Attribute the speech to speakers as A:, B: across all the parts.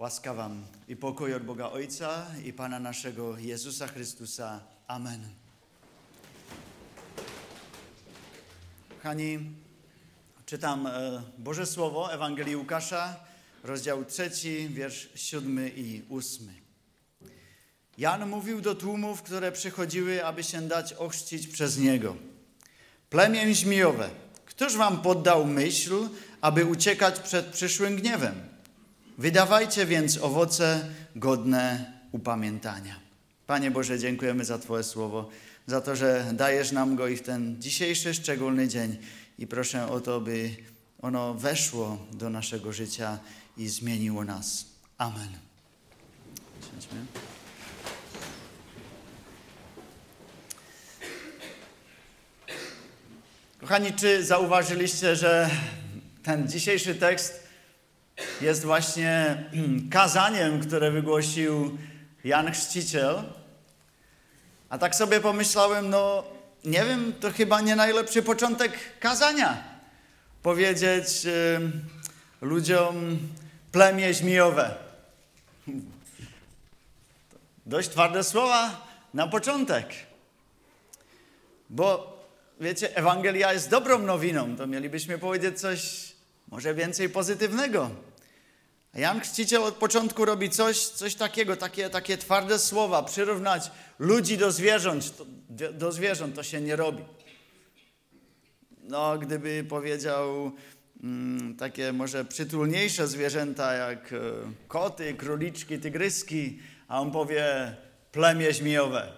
A: Łaska wam i pokój od Boga Ojca i Pana naszego Jezusa Chrystusa. Amen. Kochani, czytam Boże Słowo Ewangelii Łukasza, rozdział 3, wiersz 7 i 8. Jan mówił do tłumów, które przychodziły, aby się dać ochrzcić przez niego. Plemię żmijowe, któż wam poddał myśl, aby uciekać przed przyszłym gniewem? Wydawajcie więc owoce godne upamiętania. Panie Boże, dziękujemy za Twoje słowo, za to, że dajesz nam go i w ten dzisiejszy szczególny dzień. I proszę o to, by ono weszło do naszego życia i zmieniło nas. Amen. Siedźmy. Kochani, czy zauważyliście, że ten dzisiejszy tekst jest właśnie kazaniem, które wygłosił Jan Chrzciciel? A tak sobie pomyślałem, nie wiem, to chyba nie najlepszy początek kazania. Powiedzieć ludziom plemię żmijowe. Dość twarde słowa na początek. Bo wiecie, Ewangelia jest dobrą nowiną, to mielibyśmy powiedzieć coś może więcej pozytywnego. A Jan Chrzciciel od początku robi coś takiego, takie twarde słowa, przyrównać ludzi do zwierząt, to się nie robi. Gdyby powiedział takie może przytulniejsze zwierzęta jak koty, króliczki, tygryski, a on powie plemię żmijowe.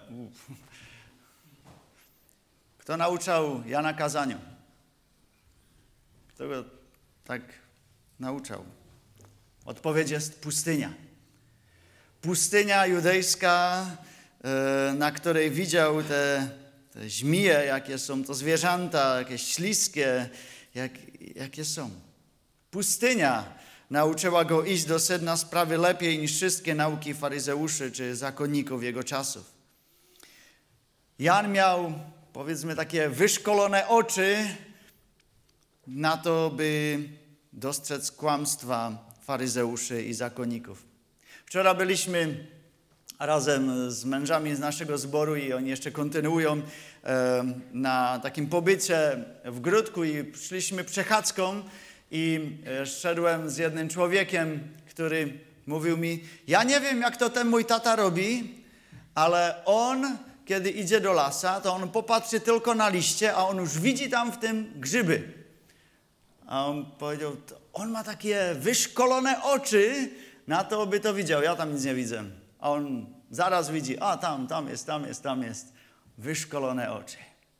A: Kto nauczał Jana kazaniu? Kto go tak nauczał? Odpowiedź jest pustynia. Pustynia judejska, na której widział te żmije, jakie są to zwierzęta, jakieś śliskie, jakie są. Pustynia nauczyła go iść do sedna sprawy lepiej niż wszystkie nauki faryzeuszy czy zakonników jego czasów. Jan miał, powiedzmy, takie wyszkolone oczy na to, by dostrzec kłamstwa faryzeuszy i zakonników. Wczoraj byliśmy razem z mężami z naszego zboru i oni jeszcze kontynuują na takim pobycie w Gródku i szliśmy przechadzką i szedłem z jednym człowiekiem, który mówił mi, ja nie wiem, jak to ten mój tata robi, ale on, kiedy idzie do lasa, to on popatrzy tylko na liście, a on już widzi tam w tym grzyby. A on powiedział, on ma takie wyszkolone oczy na to, by to widział. Ja tam nic nie widzę. A on zaraz widzi, tam jest. Wyszkolone oczy.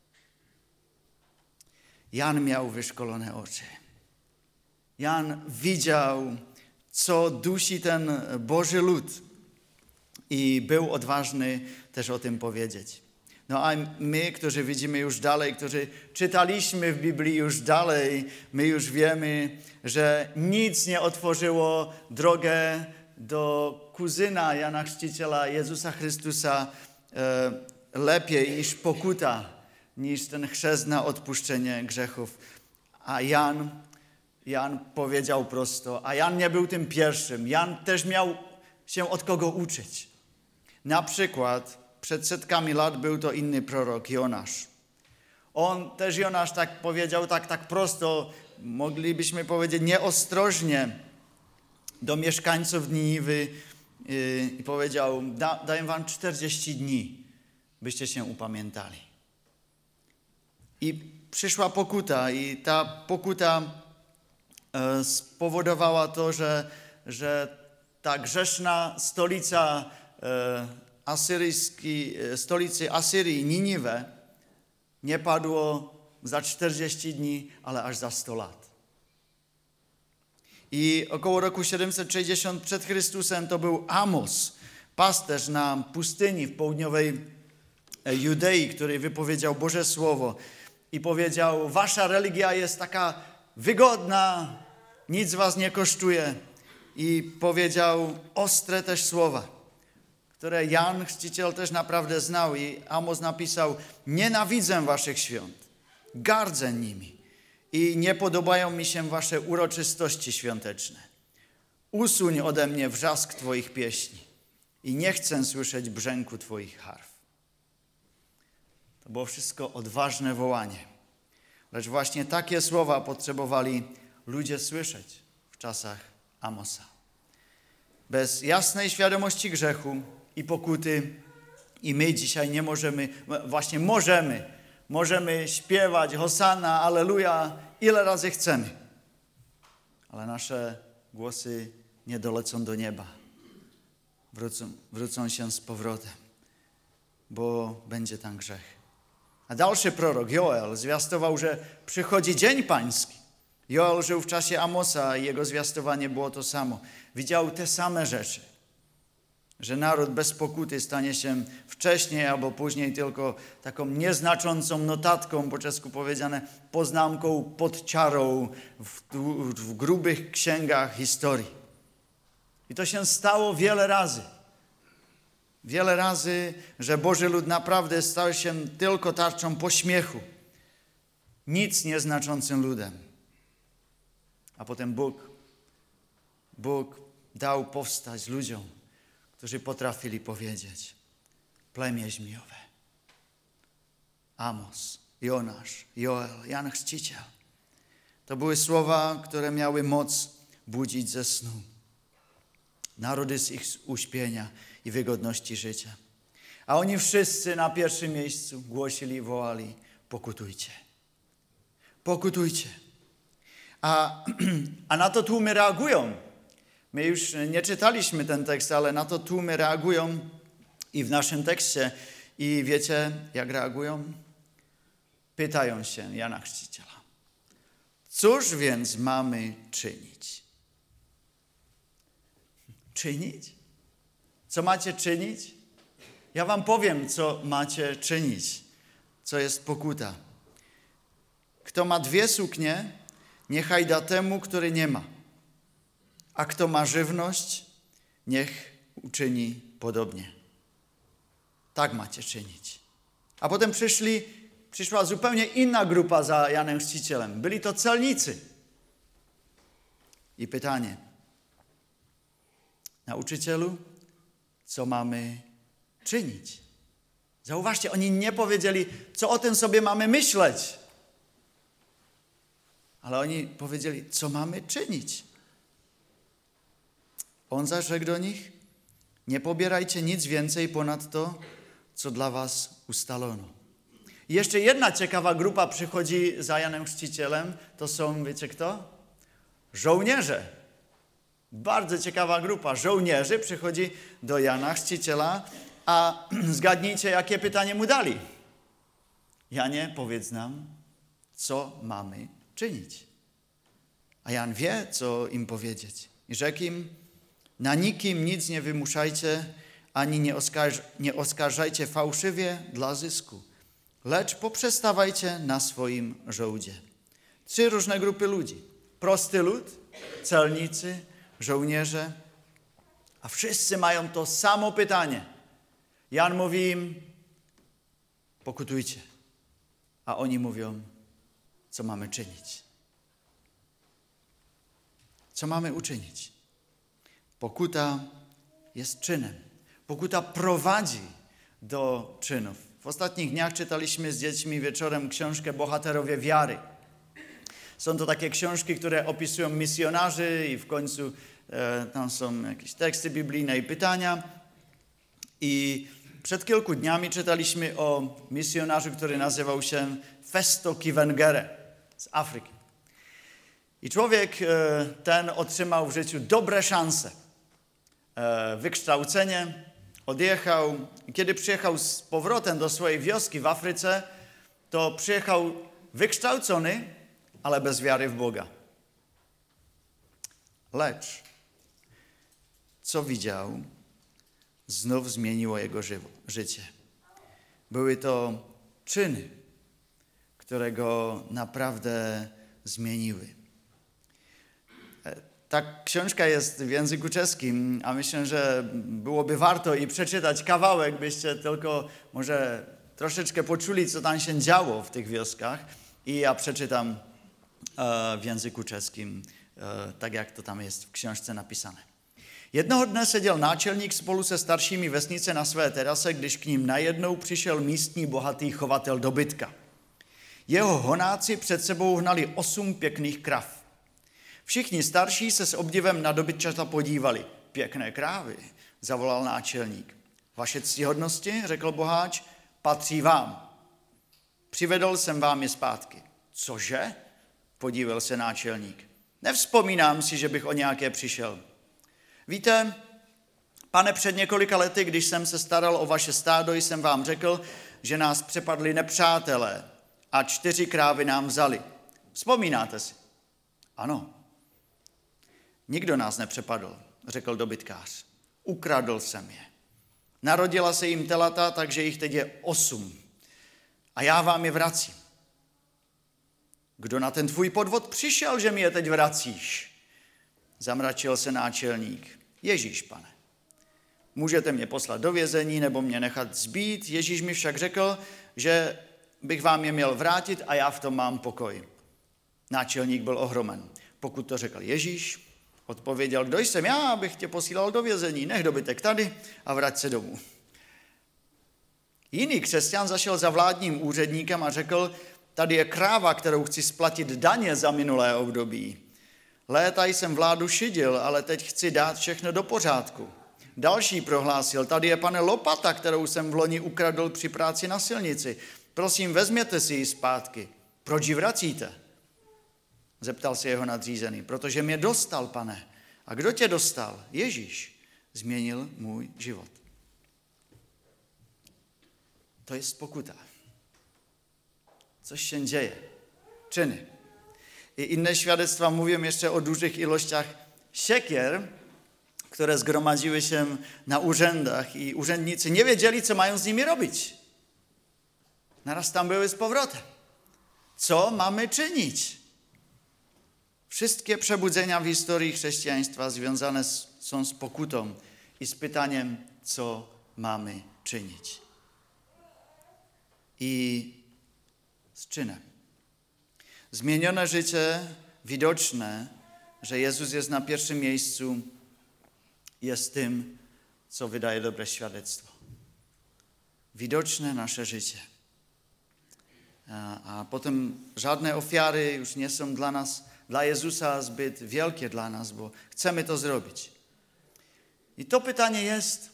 A: Jan miał wyszkolone oczy. Jan widział, co dusi ten Boży lud. I był odważny też o tym powiedzieć. A my, którzy widzimy już dalej, którzy czytaliśmy w Biblii już dalej, my już wiemy, że nic nie otworzyło drogę do kuzyna Jana Chrzciciela, Jezusa Chrystusa lepiej niż pokuta, niż ten chrzest na odpuszczenie grzechów. A Jan powiedział prosto, a Jan nie był tym pierwszym. Jan też miał się od kogo uczyć. Na przykład przed setkami lat był to inny prorok, Jonasz. Jonasz tak powiedział, tak prosto, moglibyśmy powiedzieć nieostrożnie do mieszkańców Niniwy i powiedział, daję wam 40 dni, byście się upamiętali. I przyszła pokuta i ta pokuta spowodowała to, że ta grzeszna stolica stolicy Asyrii, Niniwę, nie padło za 40 dni, ale aż za 100 lat. I około roku 760 przed Chrystusem to był Amos, pasterz na pustyni w południowej Judei, który wypowiedział Boże Słowo i powiedział, wasza religia jest taka wygodna, nic was nie kosztuje. I powiedział ostre też słowa, które Jan Chrzciciel też naprawdę znał i Amos napisał, nienawidzę waszych świąt, gardzę nimi i nie podobają mi się wasze uroczystości świąteczne. Usuń ode mnie wrzask Twoich pieśni i nie chcę słyszeć brzęku Twoich harf. To było wszystko odważne wołanie. Lecz właśnie takie słowa potrzebowali ludzie słyszeć w czasach Amosa. Bez jasnej świadomości grzechu i pokuty i my dzisiaj nie możemy, właśnie możemy śpiewać Hosanna, Alleluja, ile razy chcemy. Ale nasze głosy nie dolecą do nieba. Wrócą się z powrotem, bo będzie tam grzech. A dalszy prorok, Joel, zwiastował, że przychodzi dzień pański. Joel żył w czasie Amosa i jego zwiastowanie było to samo. Widział te same rzeczy, że naród bez pokuty stanie się wcześniej albo później tylko taką nieznaczącą notatką, po czesku powiedziane, poznámką pod ciarą w grubych księgach historii. I to się stało wiele razy. Wiele razy, że Boży lud naprawdę stał się tylko tarczą pośmiechu. Nic nieznaczącym ludem. A potem Bóg dał powstać ludziom, którzy potrafili powiedzieć: plemię żmijowe. Amos, Jonasz, Joel, Jan Chrzciciel. To były słowa, które miały moc budzić ze snu narody z ich uśpienia i wygodności życia. A oni wszyscy na pierwszym miejscu głosili i wołali: pokutujcie. Pokutujcie. A na to tłumy reagują. My już nie czytaliśmy ten tekst, ale na to tłumy reagują i w naszym tekście. I wiecie, jak reagują? Pytają się Jana Chrzciciela: cóż więc mamy czynić? Czynić? Co macie czynić? Ja wam powiem, co macie czynić. Co jest pokuta. Kto ma 2 suknie, niechaj da temu, który nie ma. A kto ma żywność, niech uczyni podobnie. Tak macie czynić. A potem przyszła zupełnie inna grupa za Janem Chrzcicielem. Byli to celnicy. I pytanie: nauczycielu, co mamy czynić? Zauważcie, oni nie powiedzieli, co o tym sobie mamy myśleć. Ale oni powiedzieli, co mamy czynić. On zaś rzekł do nich: nie pobierajcie nic więcej ponad to, co dla was ustalono. I jeszcze jedna ciekawa grupa przychodzi za Janem Chrzcicielem. To są, wiecie kto? Żołnierze. Bardzo ciekawa grupa żołnierzy przychodzi do Jana Chrzciciela, a zgadnijcie, jakie pytanie mu dali. Janie, powiedz nam, co mamy czynić. A Jan wie, co im powiedzieć. I rzekł im: na nikim nic nie wymuszajcie, ani nie oskarżajcie fałszywie dla zysku, lecz poprzestawajcie na swoim żołdzie. 3 różne grupy ludzi. Prosty lud, celnicy, żołnierze, a wszyscy mają to samo pytanie. Jan mówi im: pokutujcie. A oni mówią: co mamy czynić? Co mamy uczynić? Pokuta jest czynem. Pokuta prowadzi do czynów. W ostatnich dniach czytaliśmy z dziećmi wieczorem książkę Bohaterowie wiary. Są to takie książki, które opisują misjonarzy i w końcu tam są jakieś teksty biblijne i pytania. I przed kilku dniami czytaliśmy o misjonarzu, który nazywał się Festo Kivengere z Afryki. I człowiek ten otrzymał w życiu dobre szanse. Wykształcenie, odjechał. I kiedy przyjechał z powrotem do swojej wioski w Afryce, to przyjechał wykształcony, ale bez wiary w Boga. Lecz co widział, znów zmieniło jego życie. Były to czyny, które go naprawdę zmieniły. Ta książka jest w języku czeskim, a myślę, że byłoby warto i przeczytać kawałek, byście tylko może troszeczkę poczuli, co tam się działo w tych wioskach. I ja przeczytam w języku czeskim tak jak to tam jest v książce napísané. Jednoho dne seděl náčelník spolu se staršími vesnice na své terase, když k ním najednou přišel místní bohatý chovatel dobytka. Jeho honáci před sebou hnali 8 pěkných krav. Všichni starší se s obdivem na dobytčata podívali. Pěkné krávy, zavolal náčelník. Vaše ctihodnosti, řekl boháč, patří vám. Přivedl jsem vám je zpátky. Cože? Podíval se náčelník. Nevzpomínám si, že bych o nějaké přišel. Víte, pane, před několika lety, když jsem se staral o vaše stádo, jsem vám řekl, že nás přepadli nepřátelé a 4 krávy nám vzali. Vzpomínáte si? Ano. Nikdo nás nepřepadl, řekl dobytkář. Ukradl jsem je. Narodila se jim telata, takže jich teď je 8. A já vám je vracím. Kdo na ten tvůj podvod přišel, že mi je teď vracíš? Zamračil se náčelník. Ježíš, pane. Můžete mě poslat do vězení nebo mě nechat zbít. Ježíš mi však řekl, že bych vám je měl vrátit a já v tom mám pokoj. Náčelník byl ohromen. Pokud to řekl Ježíš, odpověděl, kdo jsem já, abych tě posílal do vězení. Nech dobytek tady a vrať se domů. Jiný křesťan zašel za vládním úředníkem a řekl, tady je kráva, kterou chci splatit daně za minulé období. Léta jsem vládu šidil, ale teď chci dát všechno do pořádku. Další prohlásil, tady je, pane, lopata, kterou jsem v loni ukradl při práci na silnici. Prosím, vezměte si ji zpátky. Proč ji vracíte? Zeptal se jeho nadřízený. Protože mě dostal, pane. A kdo tě dostal? Ježíš. Změnil můj život. To je pokuta. Co się dzieje? Czyny. I inne świadectwa mówią jeszcze o dużych ilościach siekier, które zgromadziły się na urzędach i urzędnicy nie wiedzieli, co mają z nimi robić. Naraz tam były z powrotem. Co mamy czynić? Wszystkie przebudzenia w historii chrześcijaństwa związane są z pokutą i z pytaniem, co mamy czynić. I z czynem. Zmienione życie, widoczne, że Jezus jest na pierwszym miejscu, jest tym, co wydaje dobre świadectwo. Widoczne nasze życie. A potem żadne ofiary już nie są dla Jezusa zbyt wielkie dla nas, bo chcemy to zrobić. I to pytanie jest,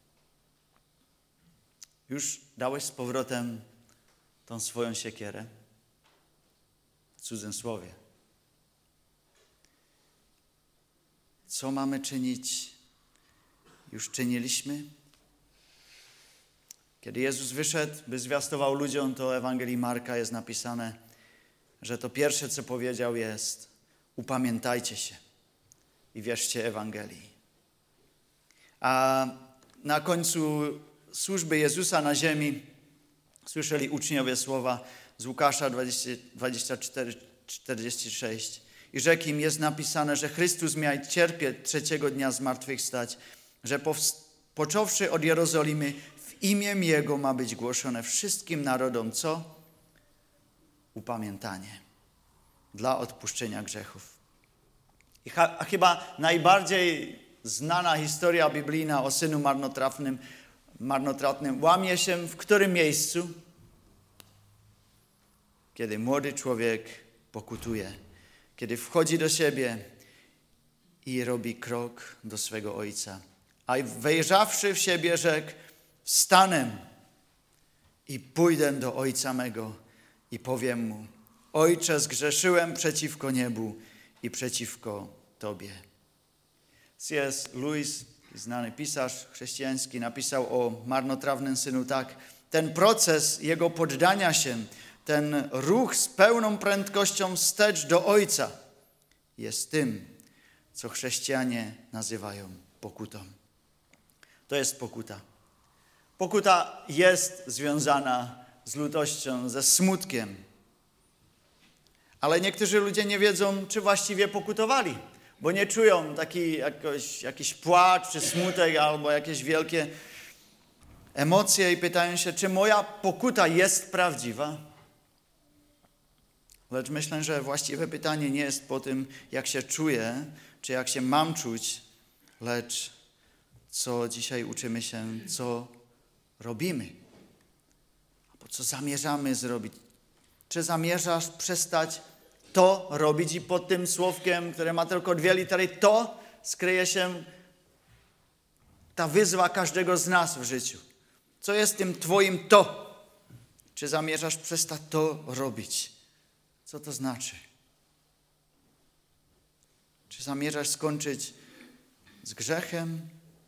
A: już dałeś z powrotem tą swoją siekierę? W cudzym słowie. Co mamy czynić? Już czyniliśmy? Kiedy Jezus wyszedł, by zwiastował ludziom, to w Ewangelii Marka jest napisane, że to pierwsze, co powiedział, jest upamiętajcie się i wierzcie Ewangelii. A na końcu służby Jezusa na ziemi słyszeli uczniowie słowa z Łukasza 24:46. I rzekł im, jest napisane, że Chrystus miał cierpieć 3. dnia zmartwychwstać, że począwszy od Jerozolimy w imię Jego ma być głoszone wszystkim narodom, co? Upamiętanie dla odpuszczenia grzechów. A chyba najbardziej znana historia biblijna o synu marnotratnym łamie się w którym miejscu? Kiedy młody człowiek pokutuje, kiedy wchodzi do siebie i robi krok do swego ojca. A wejrzawszy w siebie rzekł, wstanę i pójdę do ojca mego i powiem mu, Ojcze, zgrzeszyłem przeciwko niebu i przeciwko Tobie. C.S. Lewis, znany pisarz chrześcijański, napisał o marnotrawnym synu tak. Ten proces jego poddania się, ten ruch z pełną prędkością wstecz do Ojca jest tym, co chrześcijanie nazywają pokutą. To jest pokuta. Pokuta jest związana z lutością, ze smutkiem. Ale niektórzy ludzie nie wiedzą, czy właściwie pokutowali, bo nie czują jakiś płacz, czy smutek, albo jakieś wielkie emocje i pytają się, czy moja pokuta jest prawdziwa. Lecz myślę, że właściwe pytanie nie jest po tym, jak się czuję, czy jak się mam czuć, lecz co dzisiaj uczymy się, co robimy, albo co zamierzamy zrobić. Czy zamierzasz przestać to robić i pod tym słówkiem, które ma tylko 2 litery, to skryje się ta wyzwa każdego z nas w życiu. Co jest tym twoim to? Czy zamierzasz przestać to robić? Co to znaczy? Czy zamierzasz skończyć z grzechem?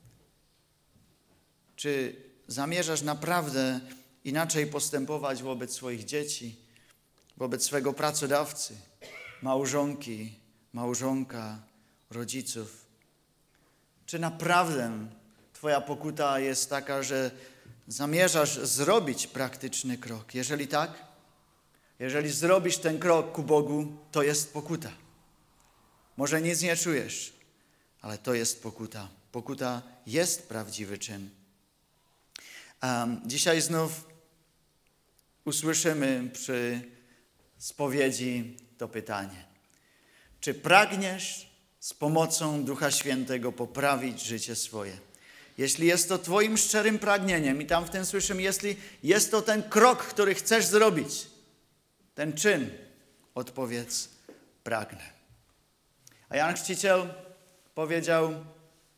A: Czy zamierzasz naprawdę inaczej postępować wobec swoich dzieci, wobec swego pracodawcy, małżonki, małżonka, rodziców? Czy naprawdę twoja pokuta jest taka, że zamierzasz zrobić praktyczny krok? Jeżeli tak, jeżeli zrobisz ten krok ku Bogu, to jest pokuta. Może nic nie czujesz, ale to jest pokuta. Pokuta jest prawdziwy czyn. Dzisiaj znów usłyszymy przy spowiedzi to pytanie. Czy pragniesz z pomocą Ducha Świętego poprawić życie swoje? Jeśli jest to twoim szczerym pragnieniem i tam w tym słyszymy, jeśli jest to ten krok, który chcesz zrobić, ten czyn, odpowiedz, pragnę. A Jan Chrzciciel powiedział,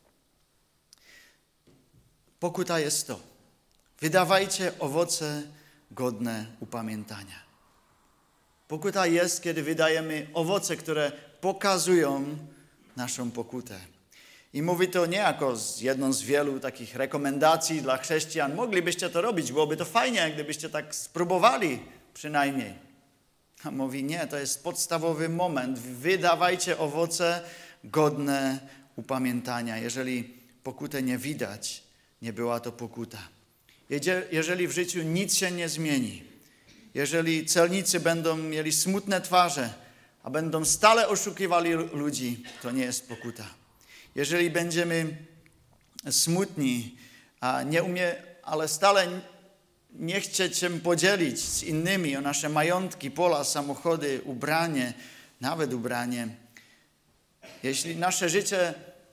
A: pokuta jest to. Wydawajcie owoce godne upamiętania. Pokuta jest, kiedy wydajemy owoce, które pokazują naszą pokutę. I mówi to nie jako jedną z wielu takich rekomendacji dla chrześcijan. Moglibyście to robić, byłoby to fajnie, gdybyście tak spróbowali przynajmniej. A mówi nie, to jest podstawowy moment. Wydawajcie owoce godne upamiętania. Jeżeli pokutę nie widać, nie była to pokuta. Jeżeli w życiu nic się nie zmieni, jeżeli celnicy będą mieli smutne twarze, a będą stale oszukiwali ludzi, to nie jest pokuta. Jeżeli będziemy smutni, ale stale nie chcieć się podzielić z innymi o nasze majątki, pola, samochody, ubranie, nawet ubranie, jeśli nasze życie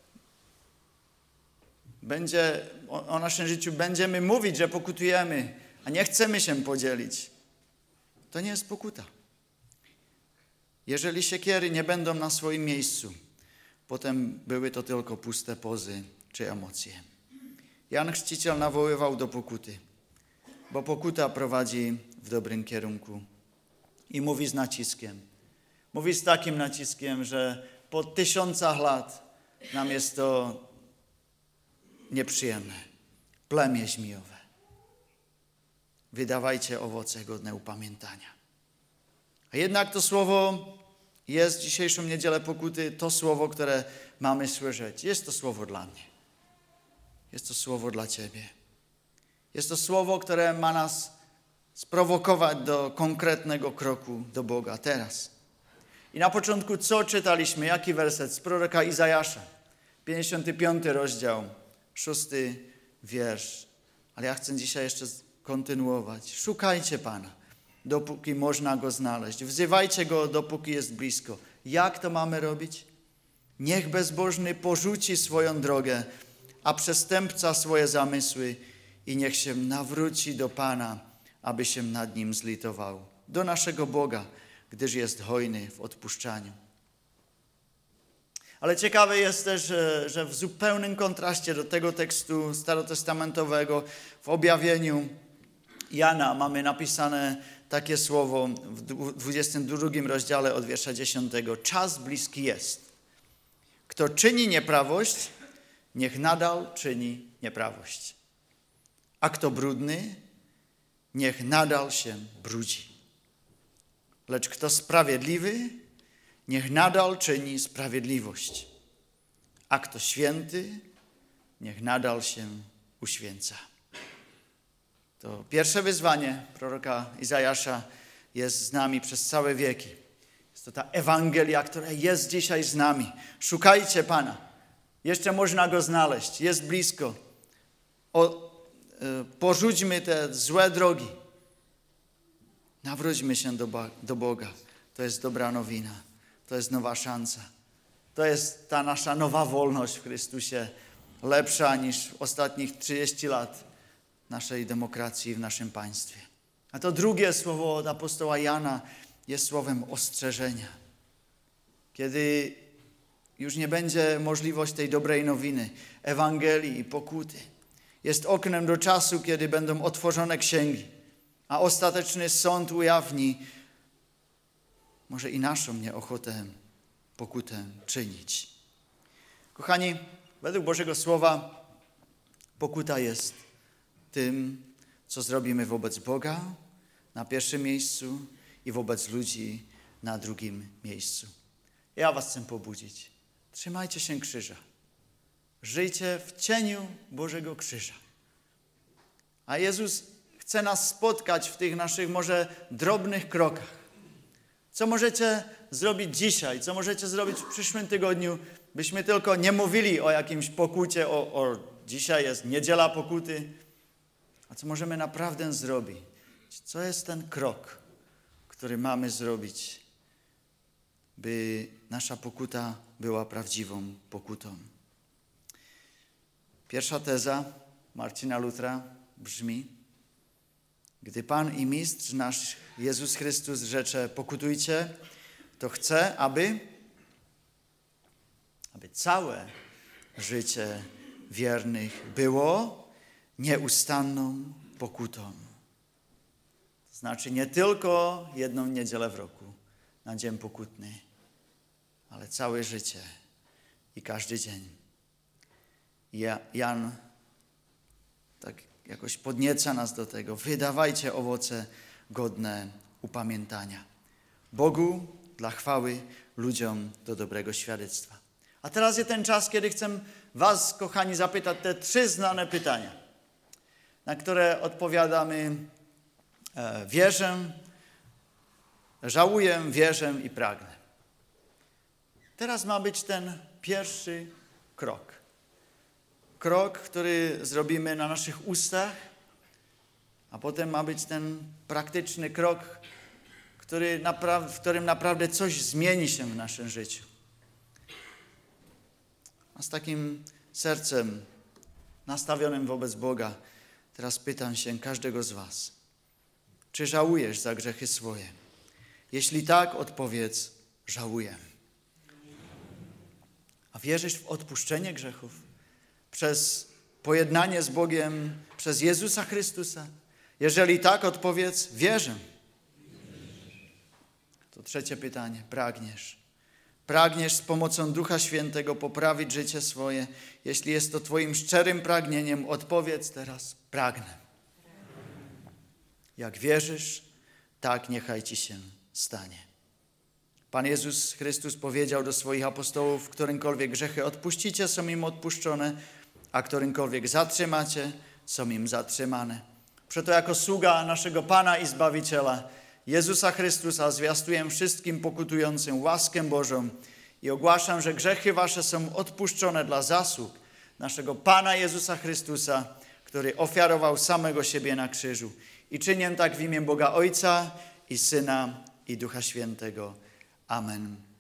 A: o naszym życiu będziemy mówić, że pokutujemy, a nie chcemy się podzielić, to nie jest pokuta. Jeżeli siekiery nie będą na swoim miejscu, potem były to tylko puste pozy czy emocje. Jan Chrzciciel nawoływał do pokuty, bo pokuta prowadzi w dobrym kierunku. I mówi z naciskiem. Mówi z takim naciskiem, że po 1000 lat nam jest to nieprzyjemne. Plemię żmijowe. Wydawajcie owoce godne upamiętania. A jednak to słowo jest dzisiejszą niedzielę pokuty, to słowo, które mamy słyszeć. Jest to słowo dla mnie. Jest to słowo dla ciebie. Jest to słowo, które ma nas sprowokować do konkretnego kroku do Boga teraz. I na początku co czytaliśmy? Jaki werset? Z proroka Izajasza. 55 rozdział, 6 wiersz. Ale ja chcę dzisiaj jeszcze kontynuować. Szukajcie Pana, dopóki można Go znaleźć. Wzywajcie Go, dopóki jest blisko. Jak to mamy robić? Niech bezbożny porzuci swoją drogę, a przestępca swoje zamysły i niech się nawróci do Pana, aby się nad nim zlitował. Do naszego Boga, gdyż jest hojny w odpuszczaniu. Ale ciekawe jest też, że w zupełnym kontraście do tego tekstu starotestamentowego w objawieniu Jana mamy napisane takie słowo w 22 rozdziale od wiersza 10. Czas bliski jest. Kto czyni nieprawość, niech nadal czyni nieprawość. A kto brudny, niech nadal się brudzi. Lecz kto sprawiedliwy, niech nadal czyni sprawiedliwość. A kto święty, niech nadal się uświęca. To pierwsze wyzwanie proroka Izajasza jest z nami przez całe wieki. Jest to ta Ewangelia, która jest dzisiaj z nami. Szukajcie Pana. Jeszcze można Go znaleźć. Jest blisko. Porzućmy te złe drogi. Nawróćmy się do Boga. To jest dobra nowina. To jest nowa szansa. To jest ta nasza nowa wolność w Chrystusie, lepsza niż w ostatnich 30 lat naszej demokracji w naszym państwie. A to drugie słowo od apostoła Jana jest słowem ostrzeżenia. Kiedy już nie będzie możliwości tej dobrej nowiny, Ewangelii i pokuty. Jest oknem do czasu, kiedy będą otworzone księgi, a ostateczny sąd ujawni może i naszą nieochotę, pokutę czynić. Kochani, według Bożego Słowa pokuta jest tym, co zrobimy wobec Boga na pierwszym miejscu i wobec ludzi na drugim miejscu. Ja was chcę pobudzić. Trzymajcie się krzyża. Żyjcie w cieniu Bożego krzyża. A Jezus chce nas spotkać w tych naszych może drobnych krokach. Co możecie zrobić dzisiaj? Co możecie zrobić w przyszłym tygodniu, byśmy tylko nie mówili o jakimś pokucie, o dzisiaj jest niedziela pokuty, a co możemy naprawdę zrobić? Co jest ten krok, który mamy zrobić, by nasza pokuta była prawdziwą pokutą? Pierwsza teza Marcina Lutra brzmi: gdy Pan i Mistrz nasz Jezus Chrystus rzecze pokutujcie, to chce, aby całe życie wiernych było nieustanną pokutą. To znaczy nie tylko jedną niedzielę w roku na dzień pokutny, ale całe życie i każdy dzień. Jan tak jakoś podnieca nas do tego. Wydawajcie owoce godne upamiętania. Bogu dla chwały, ludziom do dobrego świadectwa. A teraz jest ten czas, kiedy chcę was, kochani, zapytać te 3 znane pytania, na które odpowiadamy wierzę, żałuję, wierzę i pragnę. Teraz ma być ten pierwszy krok. Krok, który zrobimy na naszych ustach, a potem ma być ten praktyczny krok, w którym naprawdę coś zmieni się w naszym życiu. A z takim sercem nastawionym wobec Boga teraz pytam się każdego z was, czy żałujesz za grzechy swoje? Jeśli tak, odpowiedz: żałuję. A wierzysz w odpuszczenie grzechów przez pojednanie z Bogiem, przez Jezusa Chrystusa? Jeżeli tak, odpowiedz: wierzę. To trzecie pytanie. Pragniesz. Pragniesz z pomocą Ducha Świętego poprawić życie swoje. Jeśli jest to twoim szczerym pragnieniem, odpowiedz teraz: pragnę. Jak wierzysz, tak niechaj ci się stanie. Pan Jezus Chrystus powiedział do swoich apostołów: którymkolwiek grzechy odpuścicie, są im odpuszczone, a którymkolwiek zatrzymacie, są im zatrzymane. Przeto jako sługa naszego Pana i Zbawiciela, Jezusa Chrystusa, zwiastuję wszystkim pokutującym łaskę Bożą i ogłaszam, że grzechy wasze są odpuszczone dla zasług naszego Pana Jezusa Chrystusa, który ofiarował samego siebie na krzyżu. I czynię tak w imię Boga Ojca i Syna i Ducha Świętego. Amen.